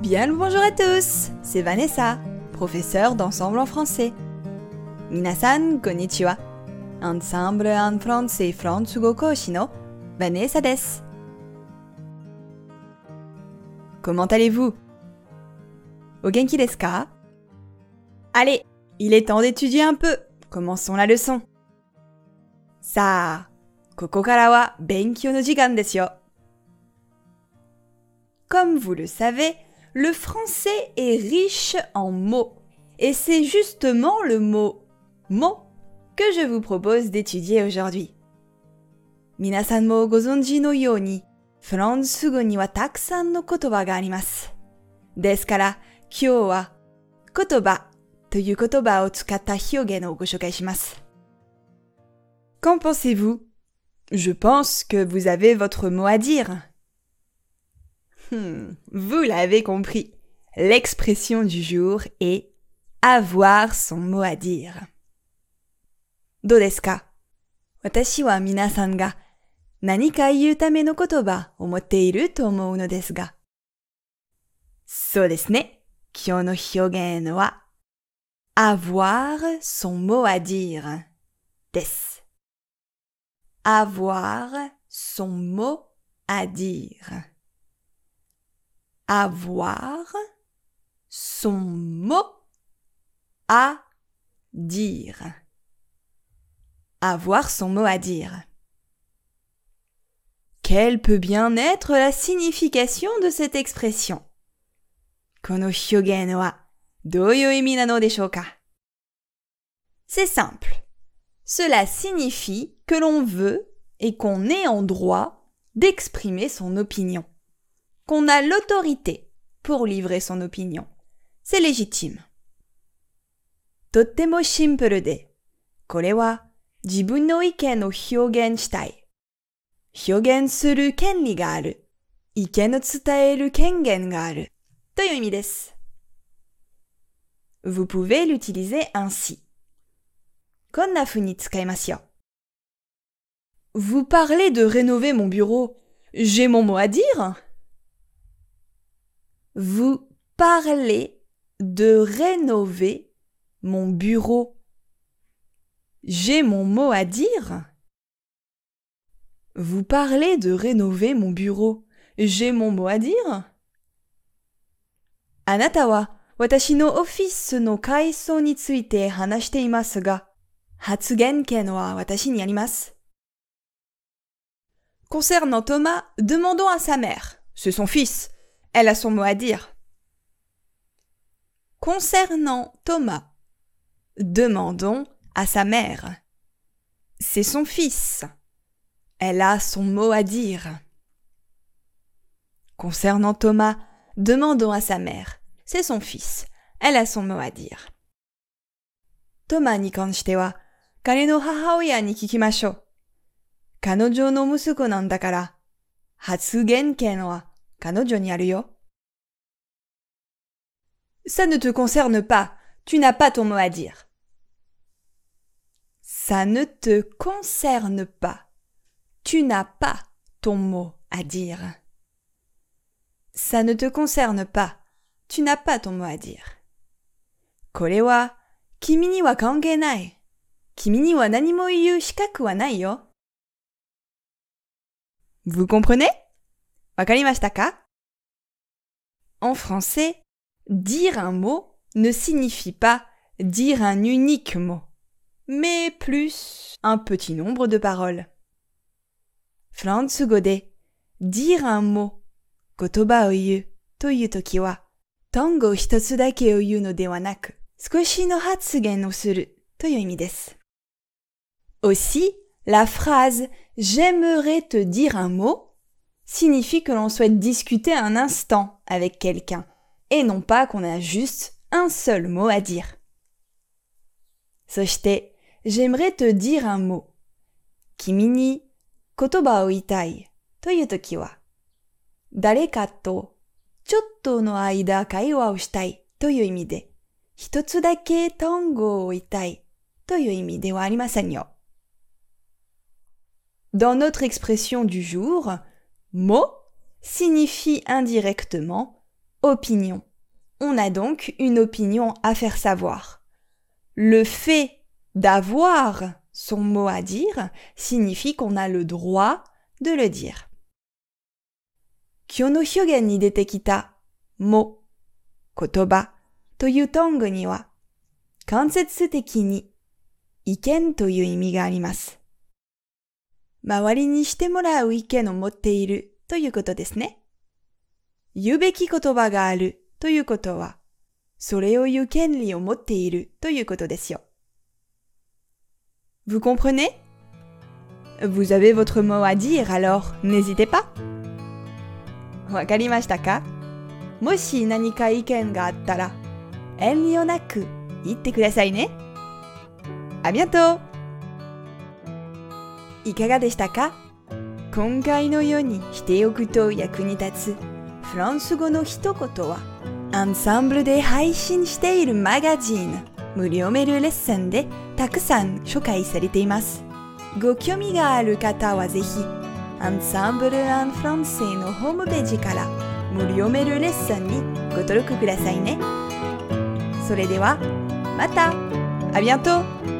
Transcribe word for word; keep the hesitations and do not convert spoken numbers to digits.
Bien le bonjour à tous, c'est Vanessa, professeure d'ensemble en français. Minasan konnichiwa. Ensemble en français Fransugo Koshi no Vanessa desu. Comment allez-vous? O genki desu ka? Allez, il est temps d'étudier un peu. Commençons la leçon. Sa, koko kara wa benkyou no jikan desu yo. Comme vous le savez, le français est riche en mots. Et c'est justement le mot « mot » que je vous propose d'étudier aujourd'hui. Minasan mo gozonji no youni, Fransugo ni wa takusan no kotoba ga arimasu. Desu kara, kyou wa kotoba toいう言葉を使った表現をご紹介します。Qu'en pensez-vous? Je pense que vous avez votre mot à dire. Hmm, vous l'avez compris. L'expression du jour est avoir son mot à dire. どうですか? 私は皆さんが何か言うための言葉を持っていると思うのですが。そうですね。今日の表現はavoir son mot à dire です。avoir son mot à dire. Avoir son mot à dire. Avoir son mot à dire. Quelle peut bien être la signification de cette expression? この表現はどういう意味なのでしょうか? C'est simple. Cela signifie que l'on veut et qu'on est en droit d'exprimer son opinion. Qu'on a l'autorité pour livrer son opinion. C'est légitime. とってもシンプルで、これは自分の意見を表現したい。表現する権利がある。意見を伝える権限がある。という意味です。Vous pouvez l'utiliser ainsi. こんな風に使いますよ。Vous parlez de rénover mon bureau. J'ai mon mot à dire? Vous parlez de rénover mon bureau. J'ai mon mot à dire? Vous parlez de rénover mon bureau. J'ai mon mot à dire? あなたは私のオフィスの改装について話していますが、発言権は私にあります。Concernant Thomas, demandons à sa mère. C'est son fils. Elle a son mot à dire. Concernant Thomas, demandons à sa mère. C'est son fils. Elle a son mot à dire. Concernant Thomas, demandons à sa mère. C'est son fils. Elle a son mot à dire. Thomas に関しては、彼の母親に聞きましょう。彼女の息子なんだから、発言権は彼女にあるよ。Ça ne te concerne pas. Tu n'as pas ton mot à dire. Ça ne te concerne pas. Tu n'as pas ton mot à dire. Ça ne te concerne pas. Tu n'as pas ton mot à dire. これは君には関係ない。君には何も言う資格はないよ。Vous comprenez? わかりましたか? En français, dire un mot ne signifie pas dire un unique mot, mais plus un petit nombre de paroles. フランス語で dire un mot 言葉を言うというときは単語一つだけを言うのではなく少しの発言をするという意味です。Aussi, la phrase « J'aimerais te dire un mot » signifie que l'on souhaite discuter un instant avec quelqu'un et non pas qu'on a juste un seul mot à dire. そして「J'aimerais te dire un mot」君に言葉を言いたいというときは誰かとちょっとの間会話をしたいという意味で一つだけ単語を言いたいという意味ではありませんよ。Dans notre expression du jour, mot signifie indirectement opinion. On a donc une opinion à faire savoir. Le fait d'avoir son mot à dire signifie qu'on a le droit de le dire. 今日の表現に出てきたも、言葉というトングには間接的に意見という意味があります。周りにしてもらう意見を持っているということですね。言うべき言葉があるということは、それを言う権利を持っているということですよ。Vous comprenez? Vous avez votre mot à dire, alors n'hésitez pas. わかりましたか？もし何か意見があったら、遠慮なく言ってくださいね。ありがとう。いかがでしたか？今回のようにしておくと役に立つフランス語の一言は、アンサンブルで配信しているマガジン、無料メールレッスンでたくさん紹介されています。ご興味がある方はぜひ、アンサンブル・アン・フランセのホームページから無料メールレッスンにご登録くださいね。それでは、また！ありがとう！